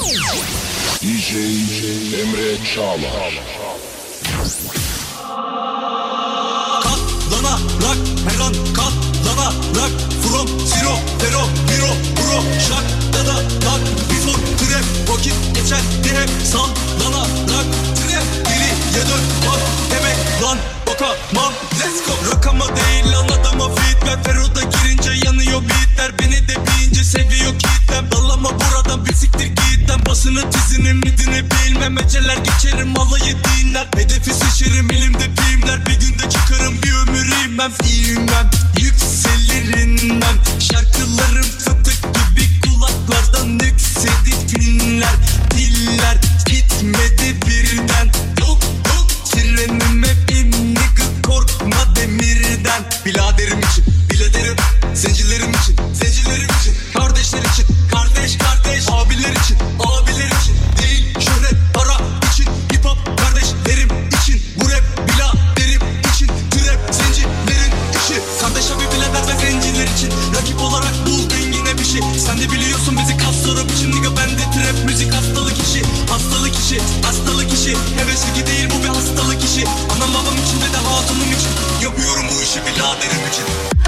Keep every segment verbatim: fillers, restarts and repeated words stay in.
D J Emre Çağlar. Katlanarak her an katlanarak from zero zero zero bro şakta da tak before trap vakit geçer diye hep sallanarak trap geriye dön bak demek lan bakamam let's go. Rakama değil lan adama feed ver Fero'da girince yanıyor beatler beni de bilince seviyor kitlem dallama buradan bir siktir gitten basını tizini midini bilmem eceler geçerim alayı dinler hedefi seçerim elimde filmler bir günde çıkarım bir ömür inmem inmem yükselirinden şarkılarım fıtık gibi kulaklardan yükseldi filmler diller gitmedi birden yok yok trenim hep imnik korkma demirden biladerim için biladerim zencilerim için zencilerim için kardeşler için kardeş kardeş abiler için abiler için değil şöhret para için hip hop kardeşlerim için bu rap biladerim için trap zencilerin işi kardeş abi bilader ve zenciler için rakip olarak bul dengine bir şey sen de biliyorsun bizi kaslara biçim nigga bende trap müzik hastalık işi hastalık işi hastalık işi hevesli değil bu bir hastalık işi anam babam için ve de hatunum için yapıyorum bu işi biladerim için.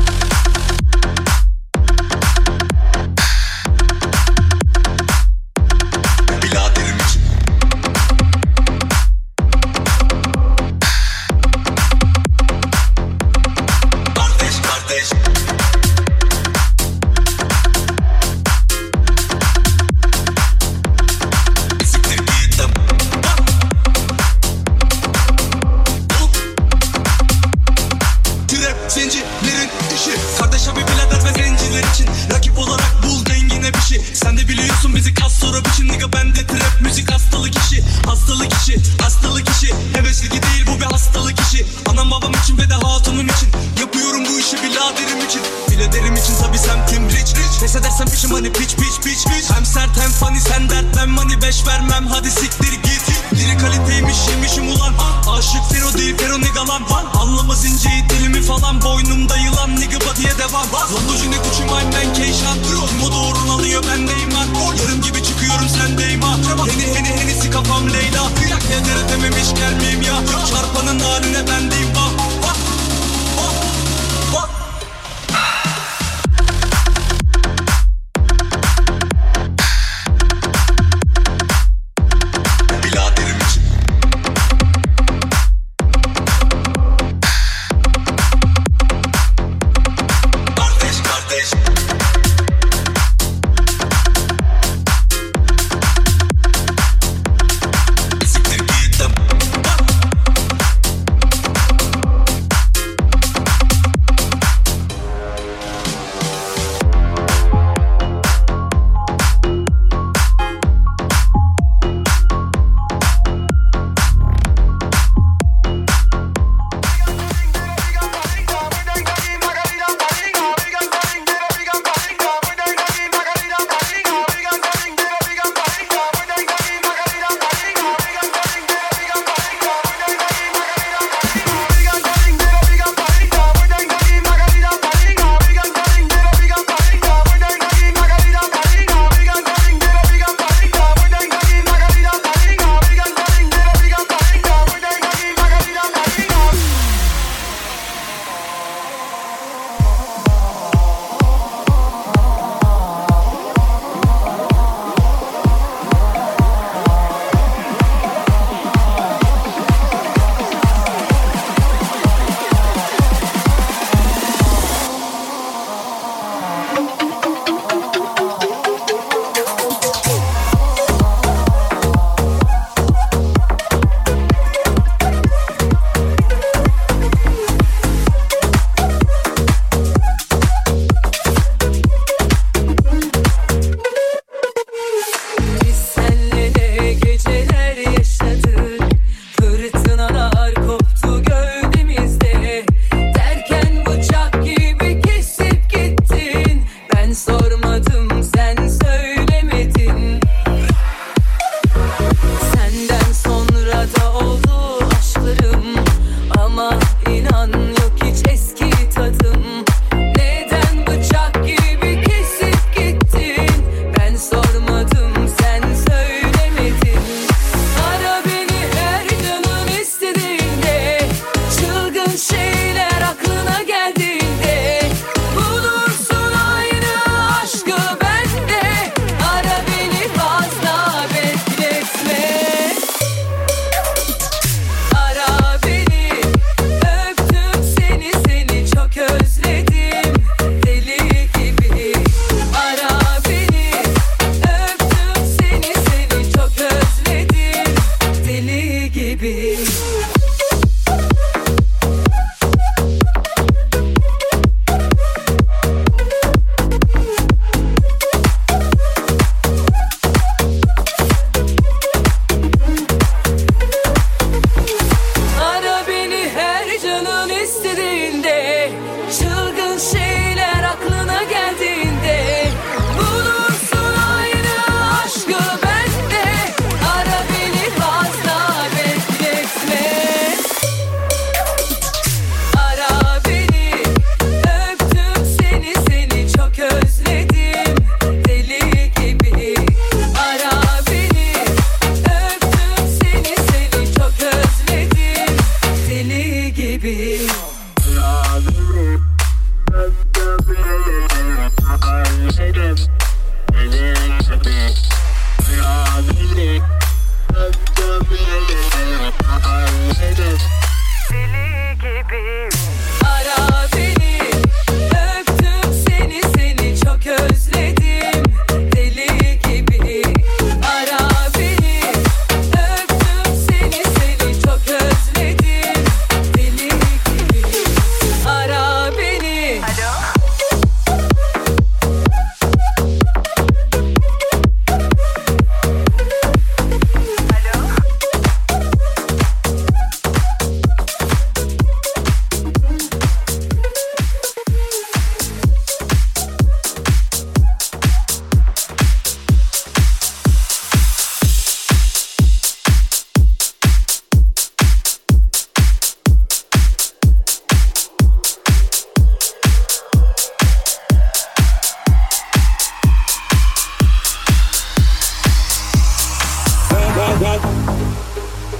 Zencilerin işi kardeş abi bilader ve zenciler için rakip olarak bul dengine bir şey sen de biliyorsun bizi kas sonra biçim nigga bende trap müzik hastalık işi hastalık işi hastalık işi hevesli değil bu bir hastalık işi anam babam için ve de hatunum için yapıyorum bu işi biladerim için biladerim için tabi semtim rich rich pes edersem biçim hani piç piç piç piç hem sert hem funny sen dert ben money beş vermem hadi siktir git diri kaliteymiş yemişim ulan aşık Fero değil Fero nigga lan anlamaz inceyi dilimi falan boynumda yılan nigga body'ye devam Lamborghini Gucci mine ben Keyşan Moda uğruna alıyor bendeyim lan yarım gibi çıkıyorum sendeyim ha Heni heni henisi kafam Leyla Plak nedere dememiş gelmeyeyim ya çarpanın haline bendeyim bak bak bak bak.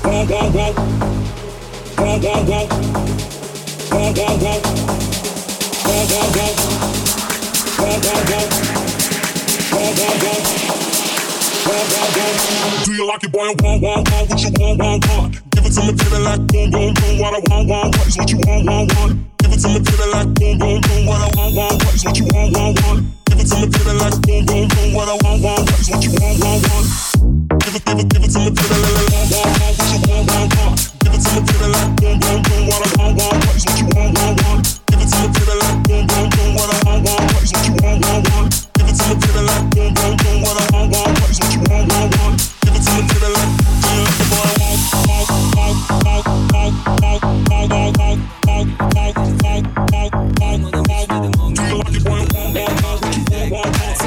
Do you like it, boy? Want, want, want, what you want, want, want? Give it to me, baby, like boom, boom, boom. What I want, want, what is what you want, want, want? Give it to me, baby, like boom, boom, boom. What I want, want, what is what you want, want, want? Give it to me, baby, like boom, boom, boom. What I want, want, what is what you want, want, want? Give it, give it, give it to me, baby, like want, want, want, what you want, want, want? Give it to me, baby, like boom, boom, boom. What I want, want, what is what you want, want, want? Give it to me, baby, like boom, boom, boom. What I want, want, what is what you want, want, want? Give it to me, baby, like boom, boom, boom. What I want, want, what is what you want, want, want? Give it to me, baby, like do you like the boy? Want, want, want, want, want, want, want, want, want, want, want, want, want, want. Do you like the boy? Want, want, want, what you want, want, want?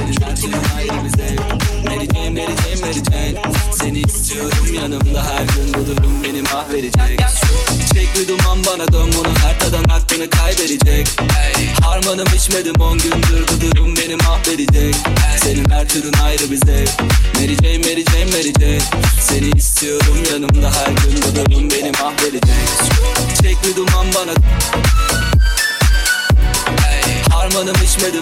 Mary Jane, Mary Jane, Mary Jane. Seni istiyorum yanımda her gün bu durum beni mahvedecek. Çek bir duman bana dön bunu her tadan aklını kaybedecek. Harmanım içmedim on gündür bu durum beni mahvedecek. Senin her türün ayrı bir zevk. Mary Jane, Mary Jane, Mary Jane. Seni istiyorum yanımda her gün bu durum beni mahvedecek. Çek bir duman bana. Harmanım içmedim.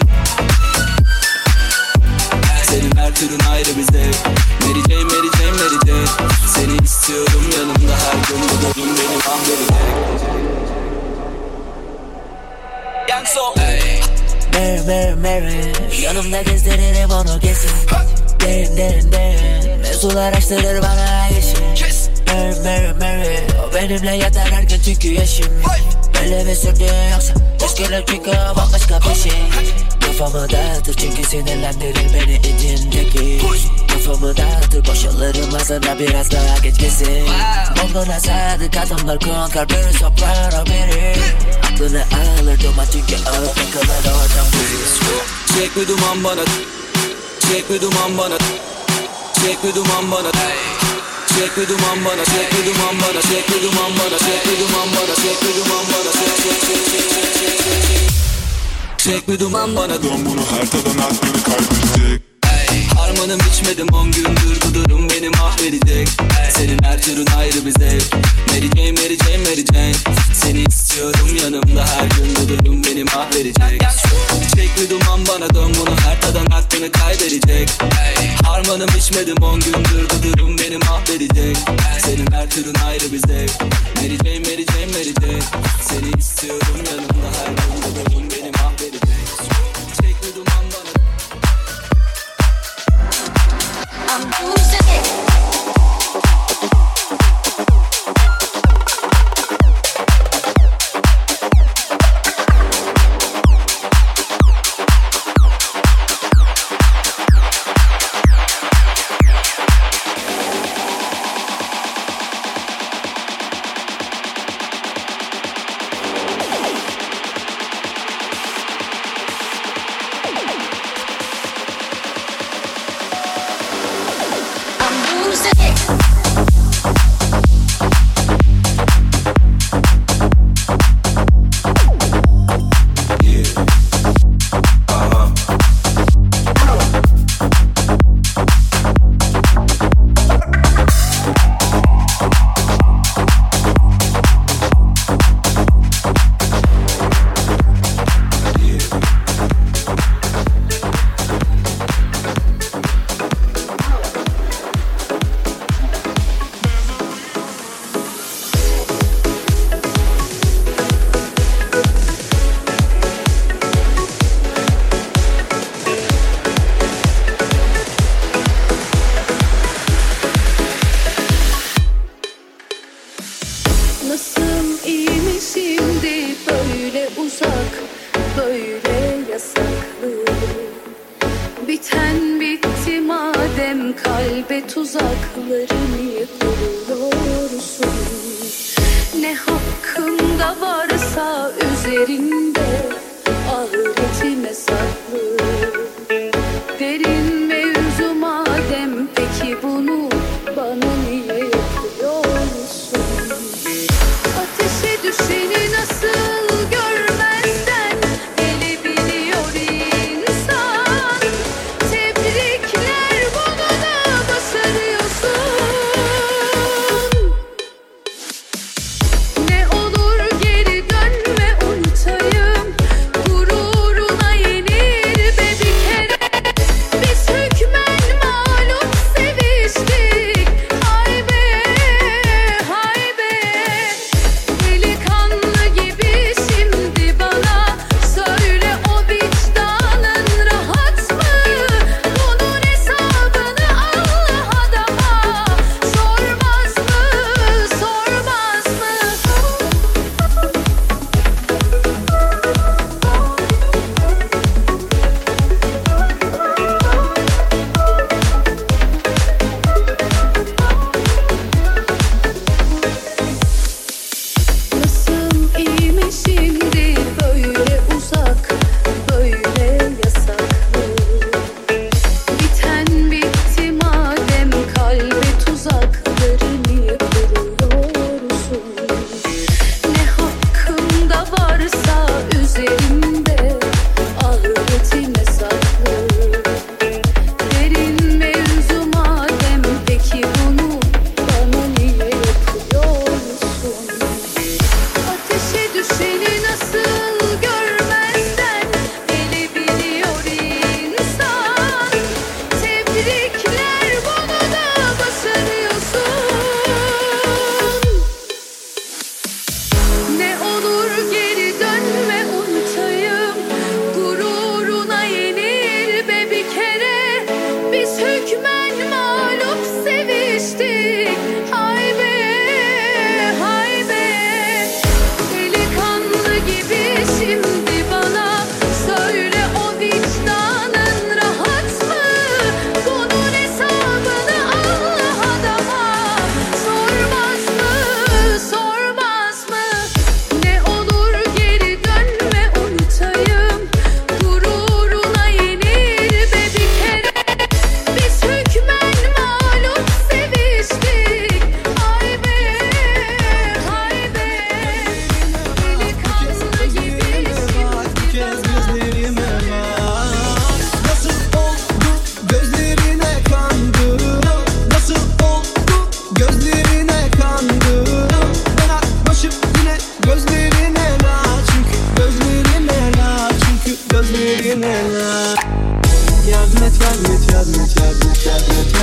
Senin her türün ayrı bir zevk. Mary Jane, Mary Jane, Mary Jane. Seni istiyorum yanımda her gün bu durum beni mahvedecek. Young Soul. Mary, Mary, Mary. Yanımda gezdiririm onu kesin. Derin, derin, derin. Mevzular açtırır bana yeşil. Mary, Mary, Mary. O benimle yatar her gün çünkü yaşım. Böyle mi sürdü yoksa Keşkeler çünkü bambaşka bir şey. Kafamı dağıtır çünkü sinirlendirir beni içindeki. Kafamı dağıtır boşalırım ağzına biraz daha geç kesin. Olduğuna sadık adamlar konkar biri soprano biri. Aklını alır duman çünkü ağır takılır oradan biri. Çek bir duman bana. Çek bir duman bana. Çek bir duman bana. Çek bir duman bana, çek bir duman bana, çek bir duman bana, çek bir duman bana, çek bir duman bana, çek çek çek çek çek çek çek. Çek bir duman bana, dön bunu her tadan aklını kaybedecek. Harmanım içmedim on gündür bu durum beni mahvedecek. Senin her türün ayrı bir zevk. Mary Jane, Mary Jane, Mary Jane. Seni istiyorum yanımda her gün bu durum beni mahvedecek. Çek bir duman bana dön bunu her tadan aklını kaybedecek. Harmanım içmedim on gündür bu durum beni mahvedecek. Senin her türün ayrı bir zevk. Mary Jane, Mary Jane, Mary Jane. Seni istiyorum yanımda her gün bu durum beni mahvedecek. Çek bir duman bana. I'm losing it.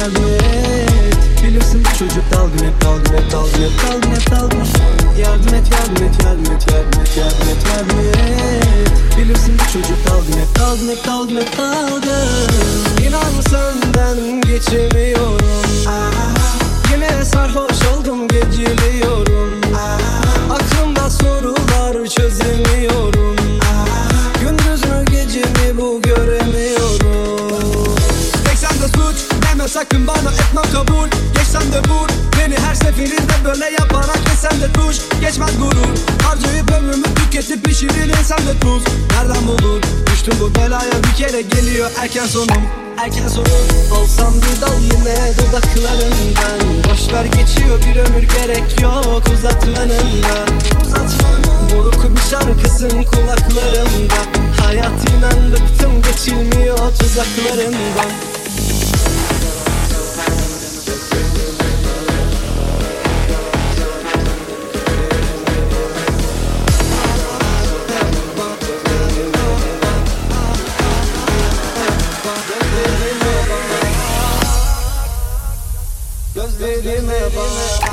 yardım et. Bilirsin bu çocuk dalgın hep dalgın hep dalgın hep dalgın hep dalgın. Yardım et yardım et yardım et yardım et yardım et yardım et. Bilirsin bu çocuk dalgın hep dalgın hep dalgın hep dalgın. İnan senden geçemiyorum. Yine sarhoş oldum geceliyorum. Aklımda sorular çözemiyorum. Gündüz mü gece mi bu göremiyorum. Tek sende suç deme sakın bana, etmem kabul. Geçsem de vur beni her seferinde böyle yaparak, yesem de tuş geçmez gurur. Harcayıp ömrümü tüketip pişirir insan de tuz. Nereden bulur düştüm bu belaya, bir kere geliyor erken sonum. Erken sonum olsam bir dal yine dudaklarından. Boşver geçiyor bir ömür, gerek yok uzatmanına. Buruk bir şarkısın kulaklarımda. Hayat inan bıktım geçilmiyor tuzaklarından. Gözlerime bak.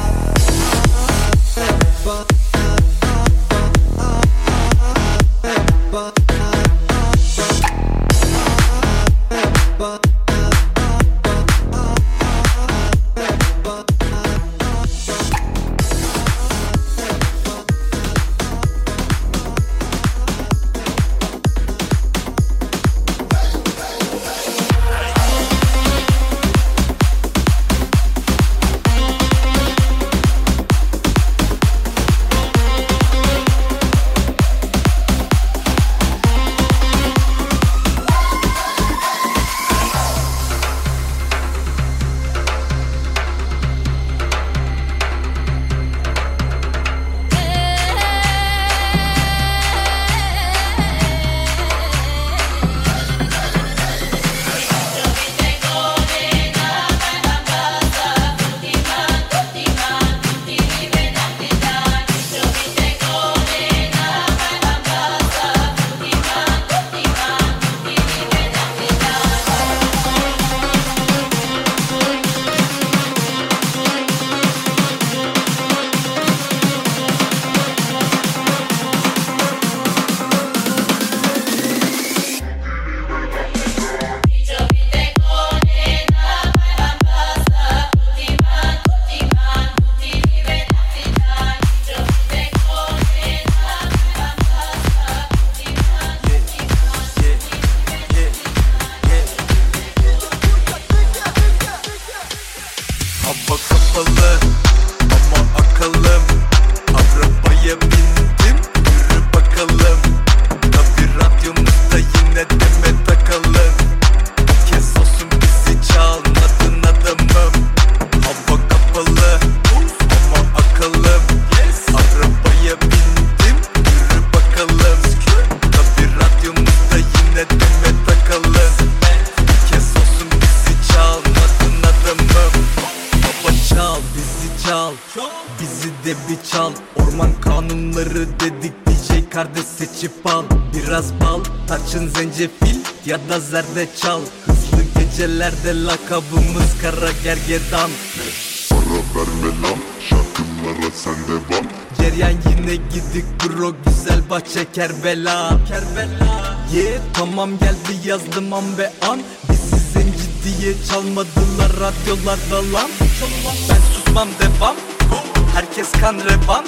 Zencefil ya da zerdeçal. Hızlı gecelerde lakabımız kara gergedan. Para verme lan, şarkılara sen devam. Ceryan yine gidik bro, güzel bahçe Kerbela. Kerbela yeah, tamam geldi yazdım an be an. Bizi zenci diye çalmadılar radyolarda lan. Ben susmam devam, herkes kan revan.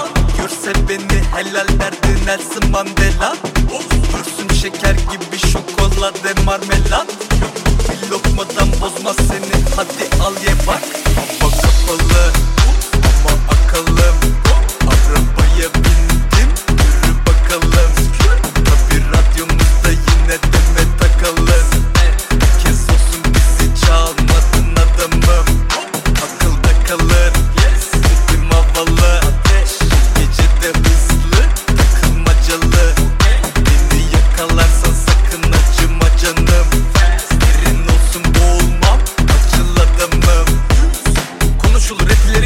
Görse beni helal derdi Nelson Mandela. Görsün şeker gibi şokolade marmelat. Bir lokmadan bozmaz seni, hadi al ye bak. Hava kapalı ama akalım. Arabaya bindim, yürü bakalım. Tabi radyomuzda yine deme takalım. Bir kez olsun bizi çalmadın adamım. Akılda kalır, sesim havalı. Gecede hızlı, takılmacalı. Beni yakalarsan sakın acıma canım. Derin olsun boğulmam, acıl adamım. Konuşulur etleri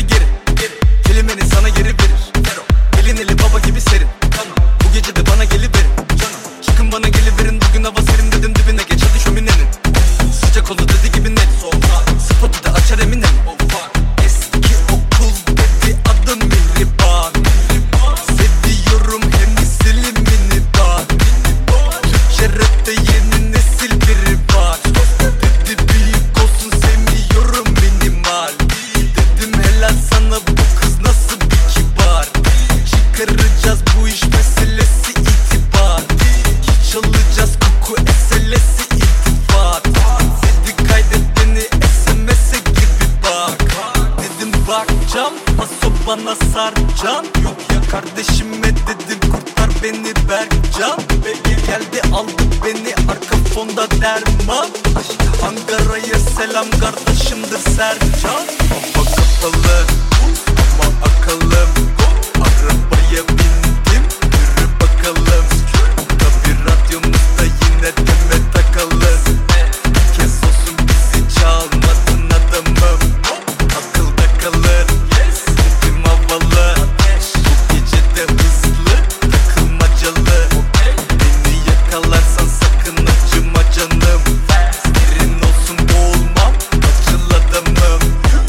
bana sarcan. Yok ya kardeşime dedim kurtar beni Berkcan. Geldi aldı beni arka fonda derman. Ankara'ya selam kardeşimdir Sercan. Baba kapalı ama akıllım, arabaya bindim yürü bakalım. Tabi radyomuzda yine deme takalım. Bir kez olsun bizi çalmadın adamım. Akılda kalır sesim havalı. Bu gece de hızlı takılmacalı. Beni yakalarsan sakın acıma canım. Serin olsun boğulmam acıl adamım.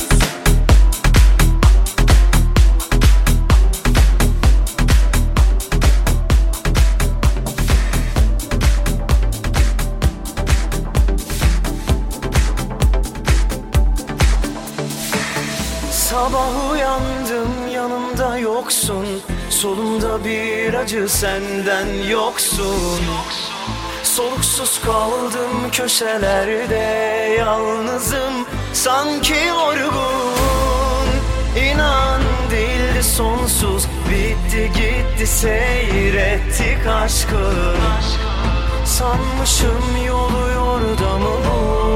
Sabah uyandım yanımda yoksun. Solumda bir acı senden yoksun. Soluksuz kaldım köşelerde yalnızım sanki yorgun. İnan değildi sonsuz bitti gitti seyrettik aşkı. Sanmışım yolu yordamı bu.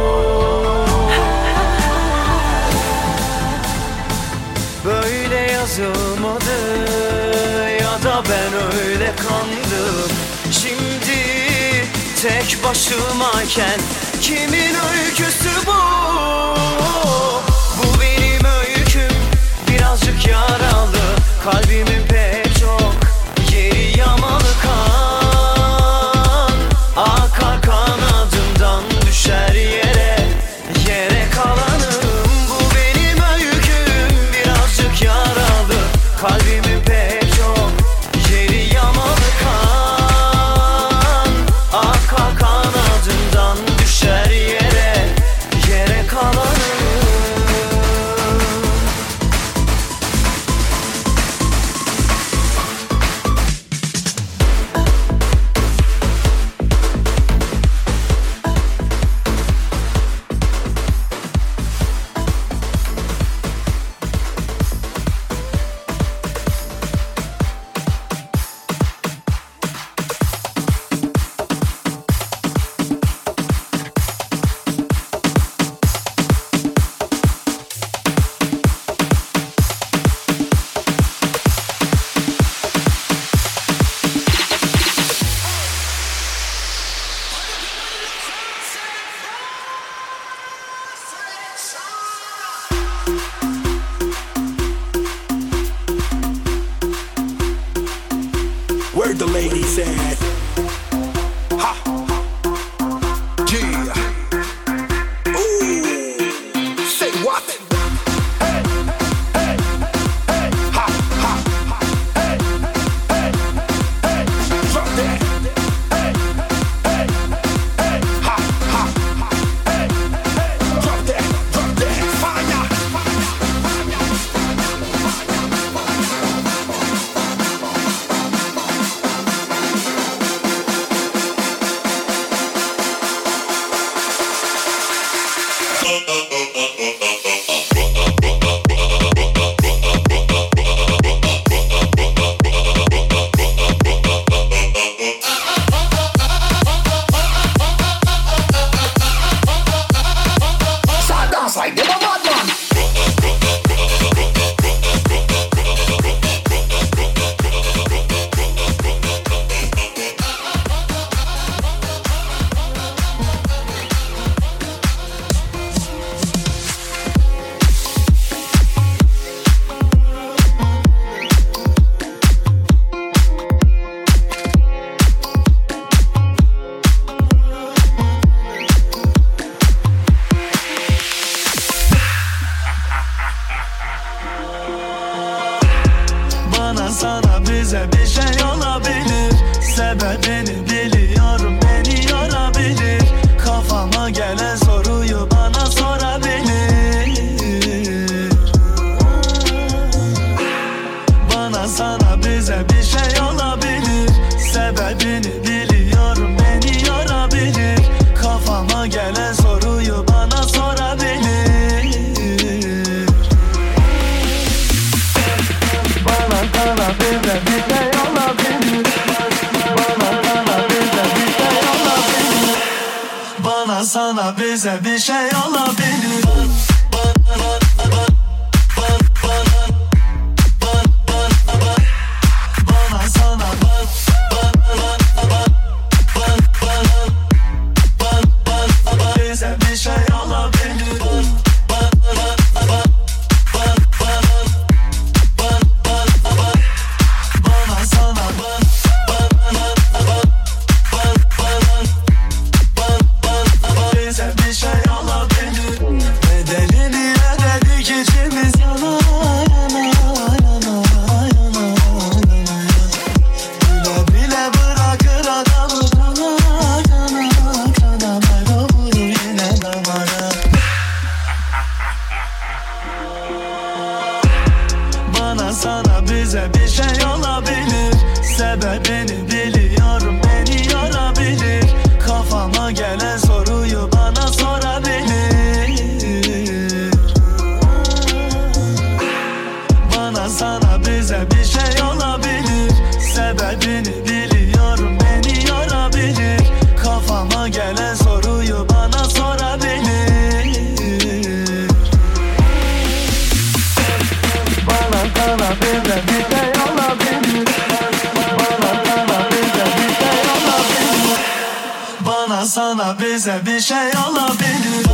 Böyle yazılmadı ya da ben öyle kandım. Şimdi tek başımayken kimin öyküsü bu? Bu benim öyküm birazcık yaralı. Kalbimin pek çok yeri yamalı kan. Akar kanadımdan düşer yere, yere kalanım. Bu benim öyküm birazcık yaralı. Kalbimin pek çok yeri yamalı kan. Akar kanadımdan düşer yere, yere kalanım. Where the ladies at? Ha! Yeah! Ooh! Say what? Hey! Hey! Hey! Ha! Ha! Hey! Hey! Hey! Drop that! Hey! Hey! Hey! Ha! Ha! Hey! Hey! Drop that! Drop that! Fire! sana bize bir şey olabilir. Sebebini biliyorum, beni yorabilir. Kafama gelen soruyu bana sorabilir. Bana sana bize bir şey olabilir. Sebebini biliyorum, beni yorabilir. Kafama gelen soruyu bana sorabilir. Bana sana bize bir şey olabilir. Bana sana bize bir şey olabilir. Bana sana bize bir şey olabilir.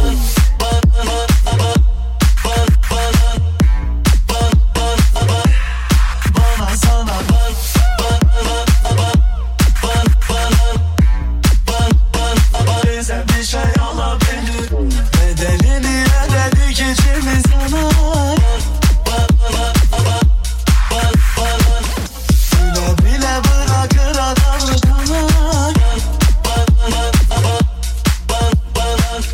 Bana sana bize bir şey olabilir. Bedelini ödedik içimiz yanar. Bile bile bırakır adamı kanar.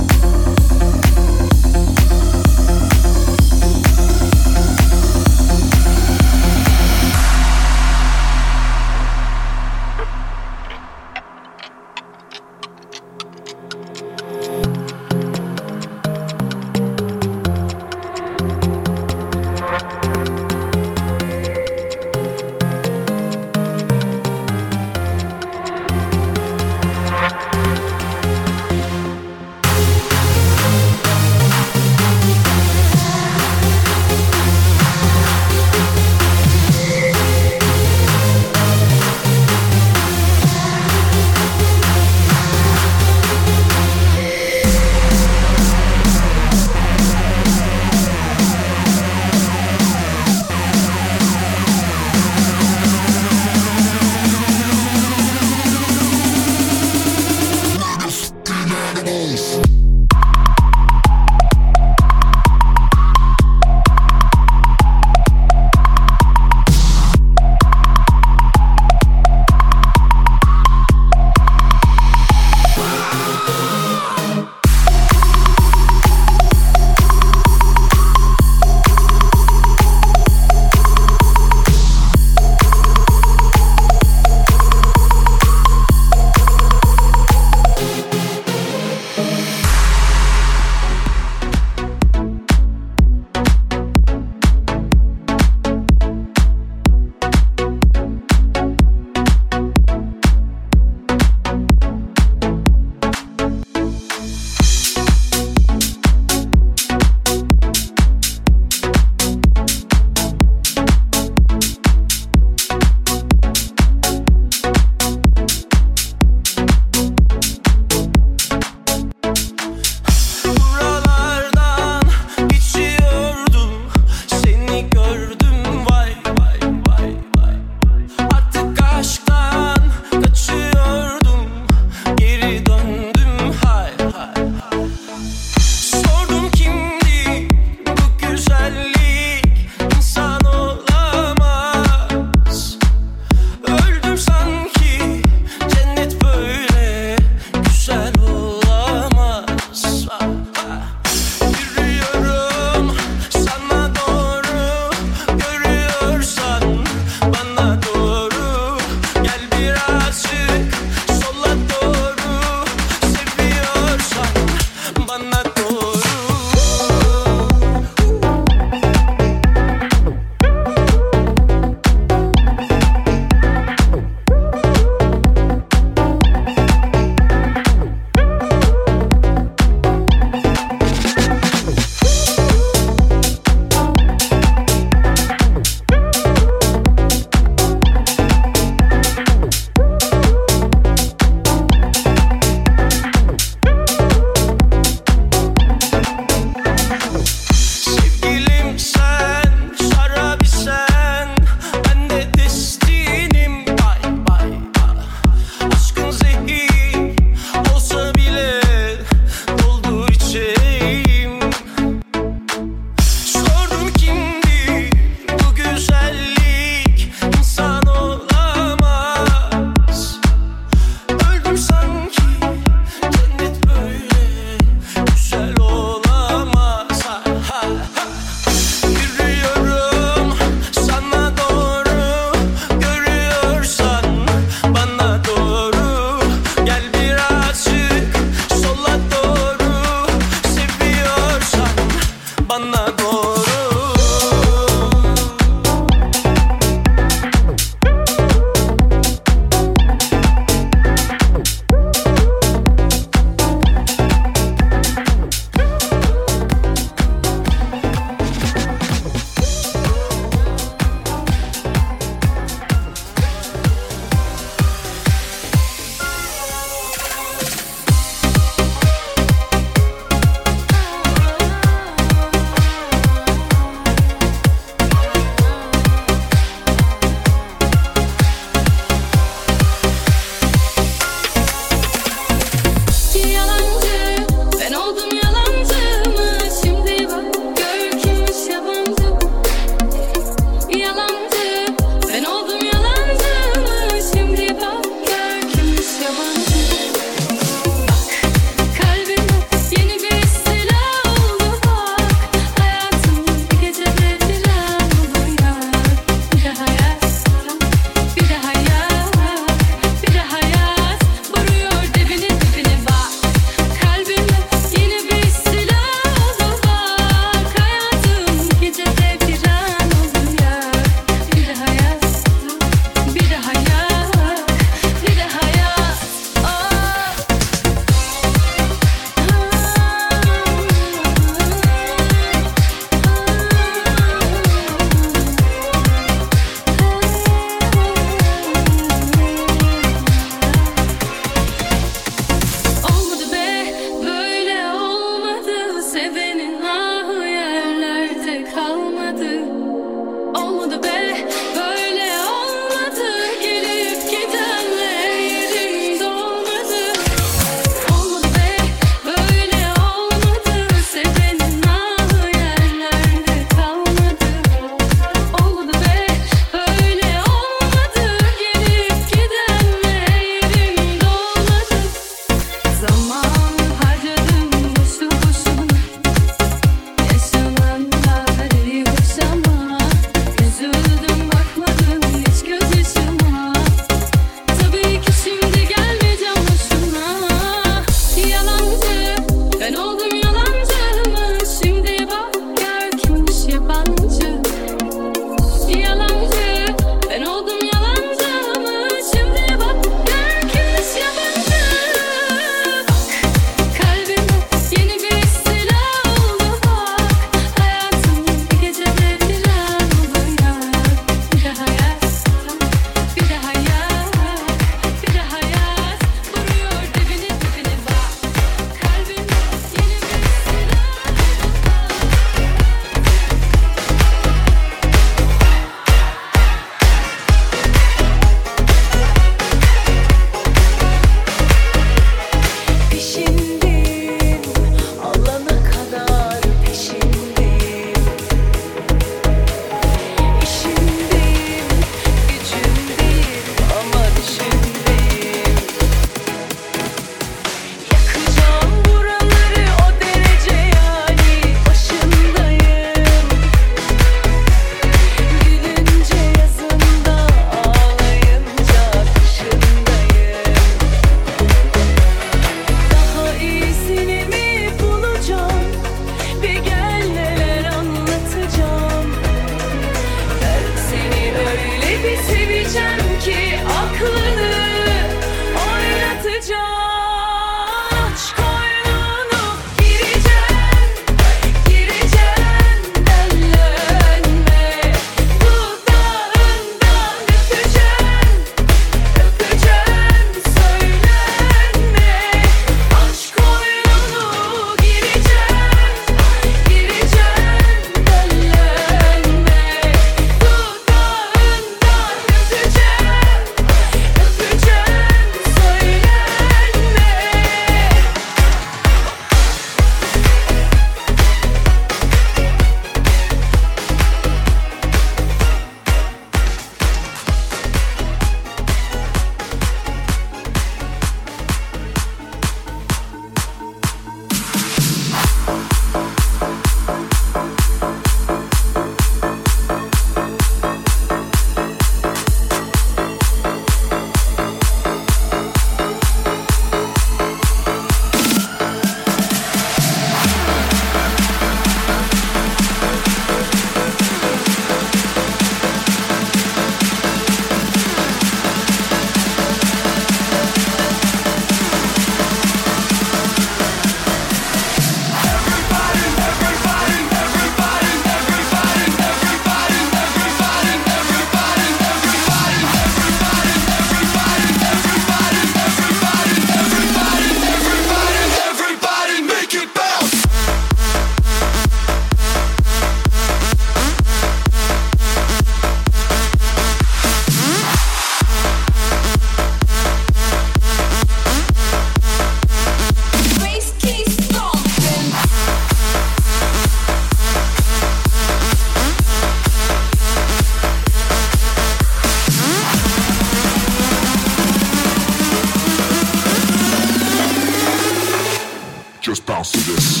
just bounce to this.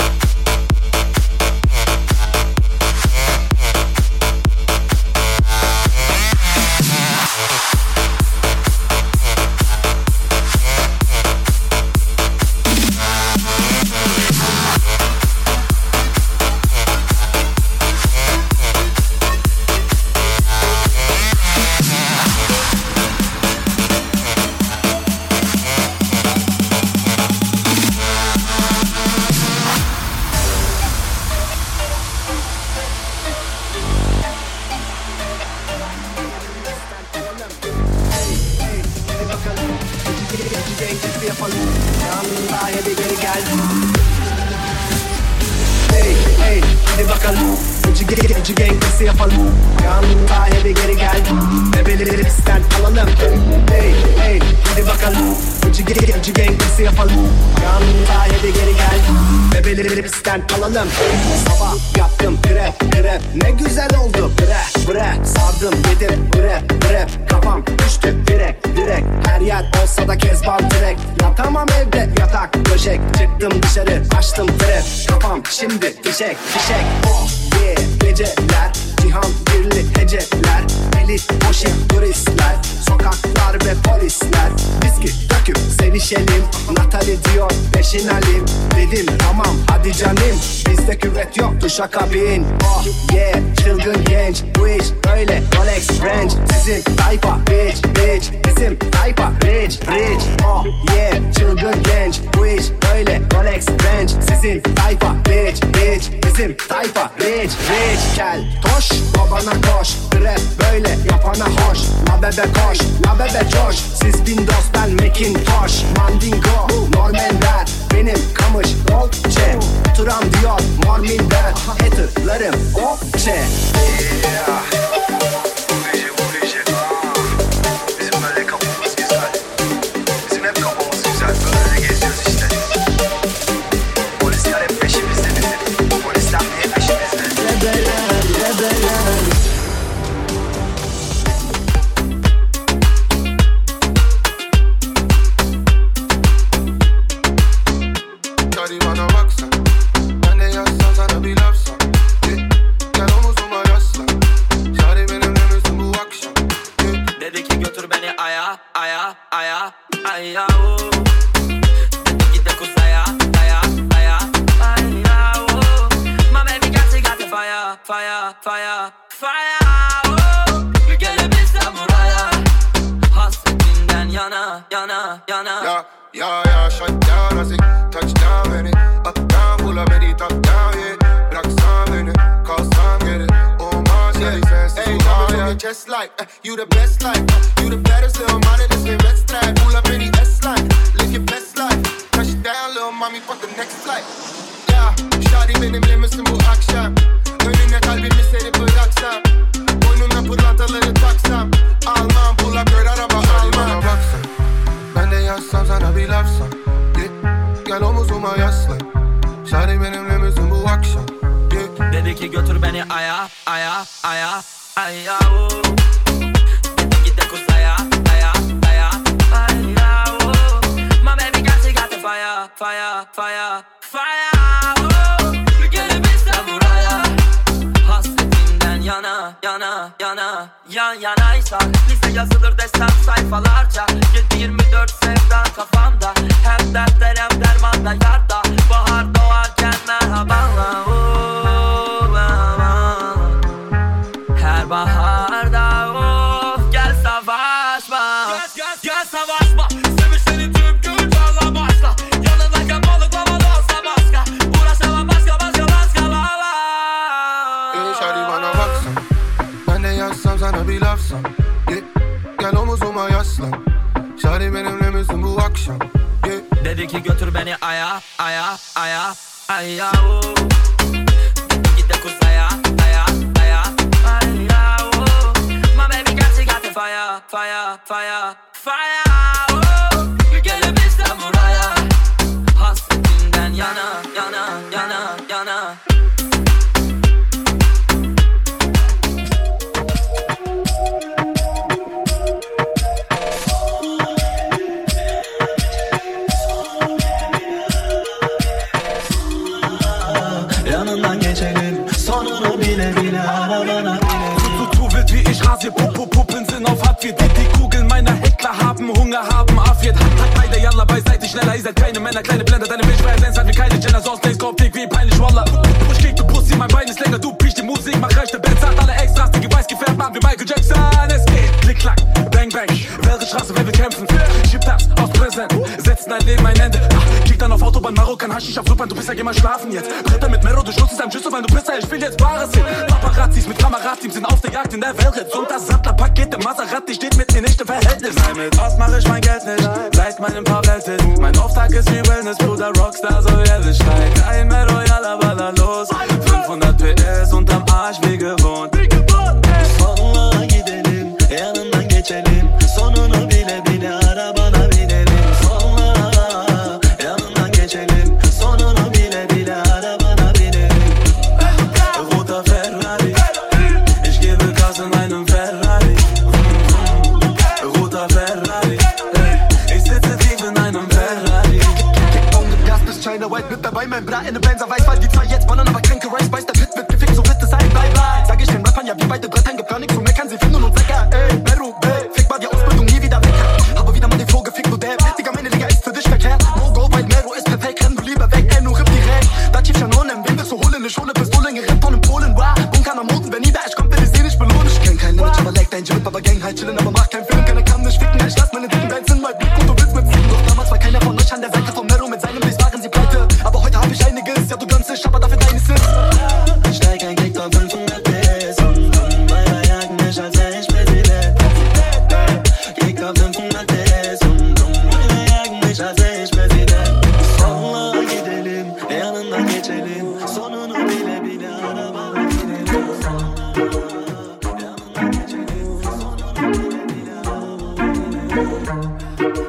Alalım. Sabah yaptım grep grep, ne güzel oldu bre bre. Sardım yedim bre bre, kafam düştü direkt direkt. Her yer olsa da kezban direkt. Yatamam evde yatak döşek. Çıktım dışarı açtım trap, kafam şimdi fişek fişek. Oh yeah geceler, cihan birli heceler. Elit boşik turistler, sokaklar ve polisler. Viski döküp sevişelim, Natali diyor peşin alim. Dedim tamam hadi canım, bizde küvet yok duşa bin. Oh yeah çılgın genç, bu iş böyle Rolex Range. Sizin tayfa bitch bitch, bizim tayfa rich rich. Oh yeah çılgın genç, bu iş böyle Rolex Range. Sizin tayfa bitch bitch, bizim tayfa rich rich. Gel toş babana koş, rap böyle yapana hoş. La bebe koş, la bebe coş. Siz Windows ben Macintosh. Mandingo, Normanler, benim kamış Dolce. Turam diyor Mormin'den, haterlarım okçe. Yeah. Bu gece bu gece bizim böyle kafamız güzel. Bizim hep kafamız güzel, böyle geziyoruz işte. Polisler hep peşimizde bizim. Polisler niye peşimizde? Rebeler, rebeler. Fire, fire, fire, oh. Gelebilsem buraya, hasretinden yana, yana, yana. Ya, ya, ya, shut down, I say, touchdown, beni. Up down, pull up, beni, top down, yeah. Bıraksan beni, kalsam geri. Olmaz, yeah, sensiz hey, coming from your chest like, uh, you the best like, uh, you the baddest little money, this game let's try. Pull up, beni, S-line, live your best life. Touchdown, little mommy, fuck the next flight. Ya, shawty benimle misin bu akşam? Önüne kalbimi serip bıraksam, boynuna pırlantaları taksam, almam pull up girl araba almam. Bana baksan, ben de yazsam sana bir lafsam, yeah. Gel omuzuma yaslan, şari benimle misin bu akşam, yeah. Dedi ki götür beni aya, aya, aya, aya, oh. Dedi git de kuzaya, aya, aya, aya, oh. My baby got she got the fire, fire, fire, fire, oh. Gelebilsem buraya, yana, yana, yana, yan yanaysak bize yazılır desem sayfalarca. Yedi yirmi dört sevdan kafamda, hem dertler hem dermanda yarda. Bahar doğarken merhabanla, oh, her baharda, oh, gel savaşma. Gel, gel, gel savaşma. Sevişlerin tüm gün canla başla. Yanındayken balık havalı olsa başka. Uğraşamam başka başka başka lala. Ey şari bana baksan, ben de yazsam sana bir lafsam, yeah. Gel omuzuma yaslan, şari benimle misin bu akşam, yeah. Dedi ki götür beni aya, aya, aya, aya, oh. Dedi git de kuzaya, aya, aya, aya, oh. My baby got she got the fire, fire, fire, fire, oh. Gelebilsem buraya, hasretinden yana, yana, yana, yana. bile bile arabana binelim. Du, du, du wild wie ich rasier, Pupu, Puppen sind auf Hartwirt. Die, die Kugeln meiner Heckler haben Hunger, haben Affiert. Hat beide, yalla, beiseite, schneller, ihr seid keine Männer, kleine Blender. Deine Milchpräsenz hat wie keine Jenner, sonst links kommt dick wie peinlich, Wallah. Push gegen du Pussy, mein Bein ist länger, du piech die Musik, mach rechte Bands, hat alle Extras, die weiß gefärbt, machen wie Michael Jackson. Es geht, klick, klack, bang, bang, welche Straße, wer will kämpfen? Schieb das aus Präsent, setzen dein Leben ein Ende. Kick dann auf Autobahn, Marokkan, Haschisch auf Flugbahn, du bist ja geh mal schlafen jetzt. Bretter mit Mero, du schluckst deinem Schüssel, weil du bist ja, ich will jetzt Bares hin. Paparazzis mit Kamerateams sind auf der Jagd in der Welt. Und das Sattlerpaket, der Maserati steht mit mir nicht im Verhältnis. Nein, mit was mach ich mein Geld nicht, seit meinem paar Welthit. Mein Auftrag ist wie Wellness, Bruder, Rockstar, so ehrlich steigt. Ein Mero, yalla, baller los. fünfhundert P S unterm Arsch, wie gewohnt. Sonuna gidelim, yanından geçelim. Sonunu bile bile arabana binelim. Sonuna yanından geçelim. Sonunu bile bile arabana binelim. Roter Ferrari, ich gebe Gas in einem Ferrari. Roter Ferrari, ich sitze tief in einem Ferrari. Gas bis China White mit dabei, mein Bra in ne Benzer weiß, weil die zwei jetzt ballern, aber kränke Rice beißt der Pit wird gefickt, so wird es sein, bye bye. Sag ich den Rappern, ja wie beide Brettern, gibt gar nichts zu meckern, sie finden uns lecker, ey, Meru, ey, fick mal die Ausbildung, nie wieder weg. Habe wieder mal den Flow gefickt, du Dab, Digga, meine Liga ist für dich verkehrt. No go, weil Meru ist perfekt, renn du lieber weg, ey, nur ripp direkt. Da Chief Shanonem, wen willst du holen, ne Schule, Pistolen, gerippt von in Polen, wow. Bunker am Moten, wenn nie da ich komm, will ich sie nicht belohnen. Ich kenn kein Limit, aber leg dein Gym, aber Gang halt chillen, aber mach keinen Film, keiner kann nicht ficken, ich lass meine dicken Bands in mein Blick und du willst mit ziehen. Doch damals war keiner von euch an der Seite von Meru, mit seinem Biss waren sie pleite. Aber heute hab ich einiges, ja du gönnst dich, aber dafür deines ist. Ich steig ein Kick auf fünfhundert P S und meiner jagen mich, als wär ich Präsident. Kick auf fünfhundert P S und meiner jagen mich, als wär ich Präsident. Sonuna gidelim, yanından geçelim. Sonunu bile bile arabana binelim. Yanından geçelim. Sonunu bile bile arabana binelim.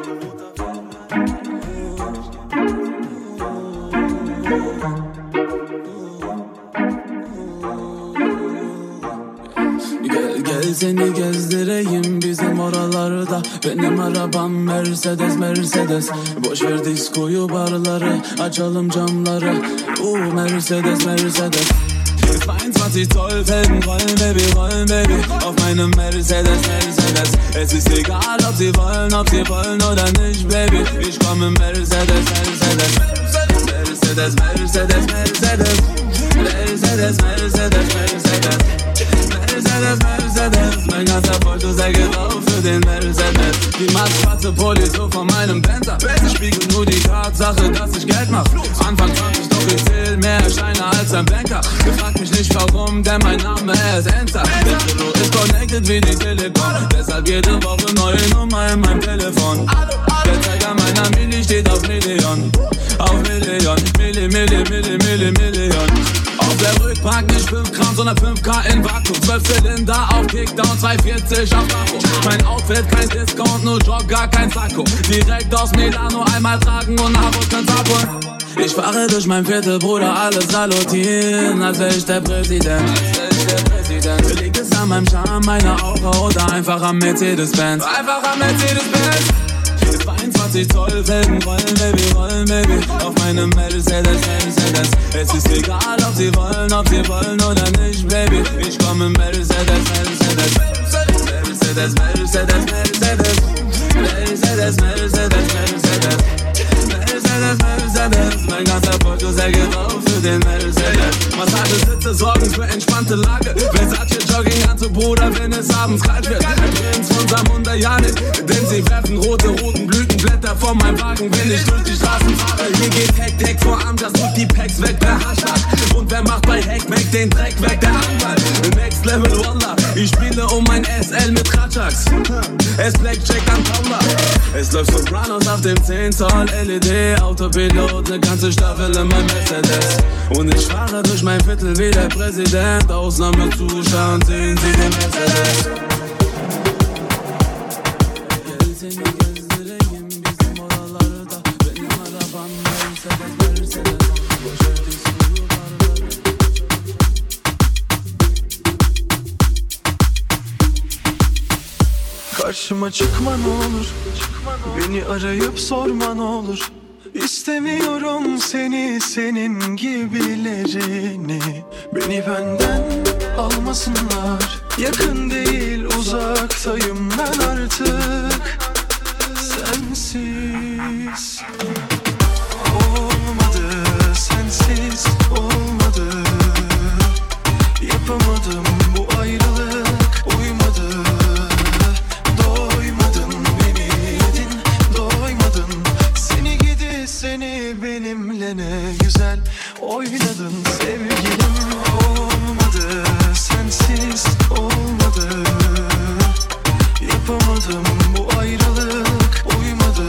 Gel gel seni gezdireyim bizim oralarda. Benim arabam Mercedes Mercedes. Boş ver diskoyu barları, açalım camları. Uh Mercedes Mercedes. zweiundzwanzig Zoll Felgen rollen, Baby, rollen, Baby. Auf meinem Mercedes, Mercedes. Es ist egal, ob sie wollen, ob sie wollen oder nicht, Baby. Ich komm im Mercedes, Mercedes. Mercedes, Mercedes, Mercedes. Mercedes, Mercedes, Mercedes. Mercedes, Mercedes. Mein ganzer Foto sei drauf für den Mercedes. Die macht schwarze Pulli so von meinem Benzer. Es spiegelt nur die Tatsache, dass ich Geld mach. Anfang zwanzig, doch ich zähl mehr Scheine als ein Banker. Ihr fragt mich nicht warum, denn mein Name ist Enzer. Der Kilo ist connected wie die Telekom. Deshalb jede Woche neue Nummer in meinem Telefon. Der Zeiger meiner Milli steht auf Million. Auf Million, Milli, Milli, Milli, Milli, Million. Auf der Rückbank nicht fünf Gramm, sondern fünf K in Vakuum. zwölf Zylinder auf Kickdown, zweihundertvierzig auf Tacho. Mein Outfit kein Discount, nur Jogger, kein Sakko. Direkt aus Milano einmal tragen und nach uns kann's abholen. Ich fahre durch mein Viertel, Bruder, alles salutieren, als wär ich der Präsident. Als wär ich der Präsident. Liegt es an meinem Charme, meiner Aura oder einfach am Mercedes-Benz? Einfach am Mercedes-Benz. zweiundzwanzig Zoll Felgen rollen, Baby, rollen, Baby. Auf meinem Mercedes, Mercedes. Es ist egal, ob sie wollen, ob sie wollen oder nicht, Baby. Ich komm im Mercedes, Mercedes. Mercedes, Mercedes, Mercedes. Mercedes, Mercedes, Mercedes. Mercedes, Mercedes. Mein ganzer Foto sei drauf für den Mercedes. Massagesitze sorgen für entspannte Lage. Versace Jogginganzug, Bruder, wenn es abends kalt wird. Ein Prinz von Samunda Janik, denn sie werfen rote, roten Blütenblätter vor meinem Wagen, wenn ich durch die Straßen fahre. Hier geht Heck-Deck vor Amjas, tut die Packs weg, der Hashtag. Und wer macht bei Heck-Mac den Dreck weg, der Anwalt. Next Level Wallah, ich spiele um mein S L mit Ratschaks. Es Blackjack an Paula. Es läuft Sopranos auf dem zehn Zoll L E D Autopilot, ne ganze Staffel in meinem Mercedes. Und ich fahre durch mein Viertel wie der Präsident. Ausnahmezuschauen sehen Sie den Mercedes. Gel seni gezdireyim bizim oralarda. Benim arabam Mercedes Mercedes. Boş ver diskoyu barları. Karşıma çıkma ne olur, beni arayıp sorma ne olur. İstemiyorum seni, senin gibilerini. Beni benden almasınlar. Yakın değil uzaktayım ben artık. Sensiz olmadı, sensiz olmadı. Yapamadım bu ayrılık, uymadı. Doymadın beni yedin, doymadın. Seni gidi seni benimle ne güzel oynadın sevgilim. Olmadı, sensiz olmadı. Yapamadım bu ayrılık, uymadı.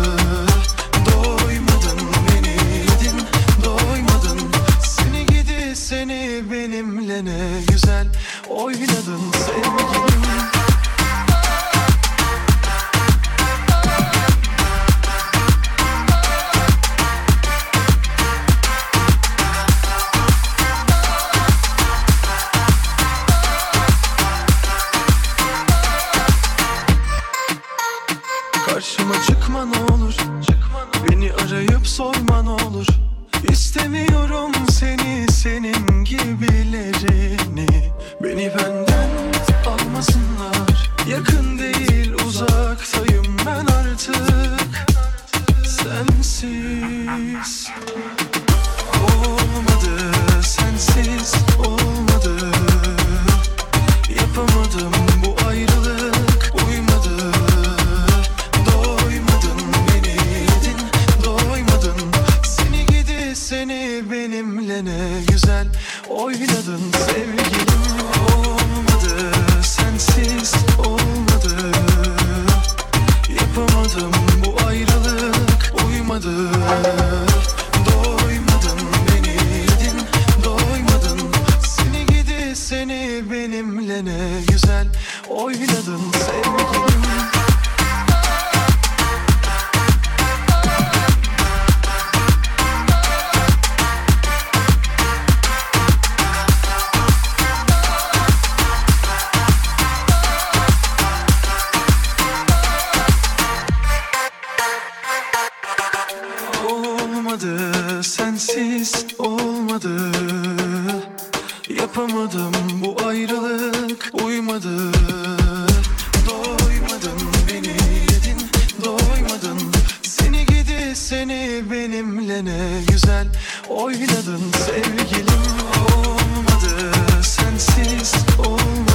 Doymadın beni yedin, doymadın. Seni gidi seni benimle ne güzel oynadın sevgilim. Karşıma çıkma ne olur, beni arayıp sorma ne olur. İstemiyorum seni, senin gibilerini. Beni benden almasınlar. Yakın değil uzaktayım ben artık. Sensiz olmadı, sensiz olmadı. Yapamadım bu ayrılık, uymadı. Doymadın beni yedin, doymadın. Seni gidi seni benimle ne güzel oynadın sevgilim. Olmadı, sensiz olmadı. Yapamadım bu ayrılık, uymadı. Doymadın beni yedin, doymadın. Seni gidi seni benimle ne güzel oynadın sevgilim. Olmadı, sensiz olmadı. Yapamadım bu ayrılık, uymadı. Doymadın beni yedin, doymadın. Seni gidi seni benimle ne güzel oynadın sevgilim. Olmadı, sensiz olmadı.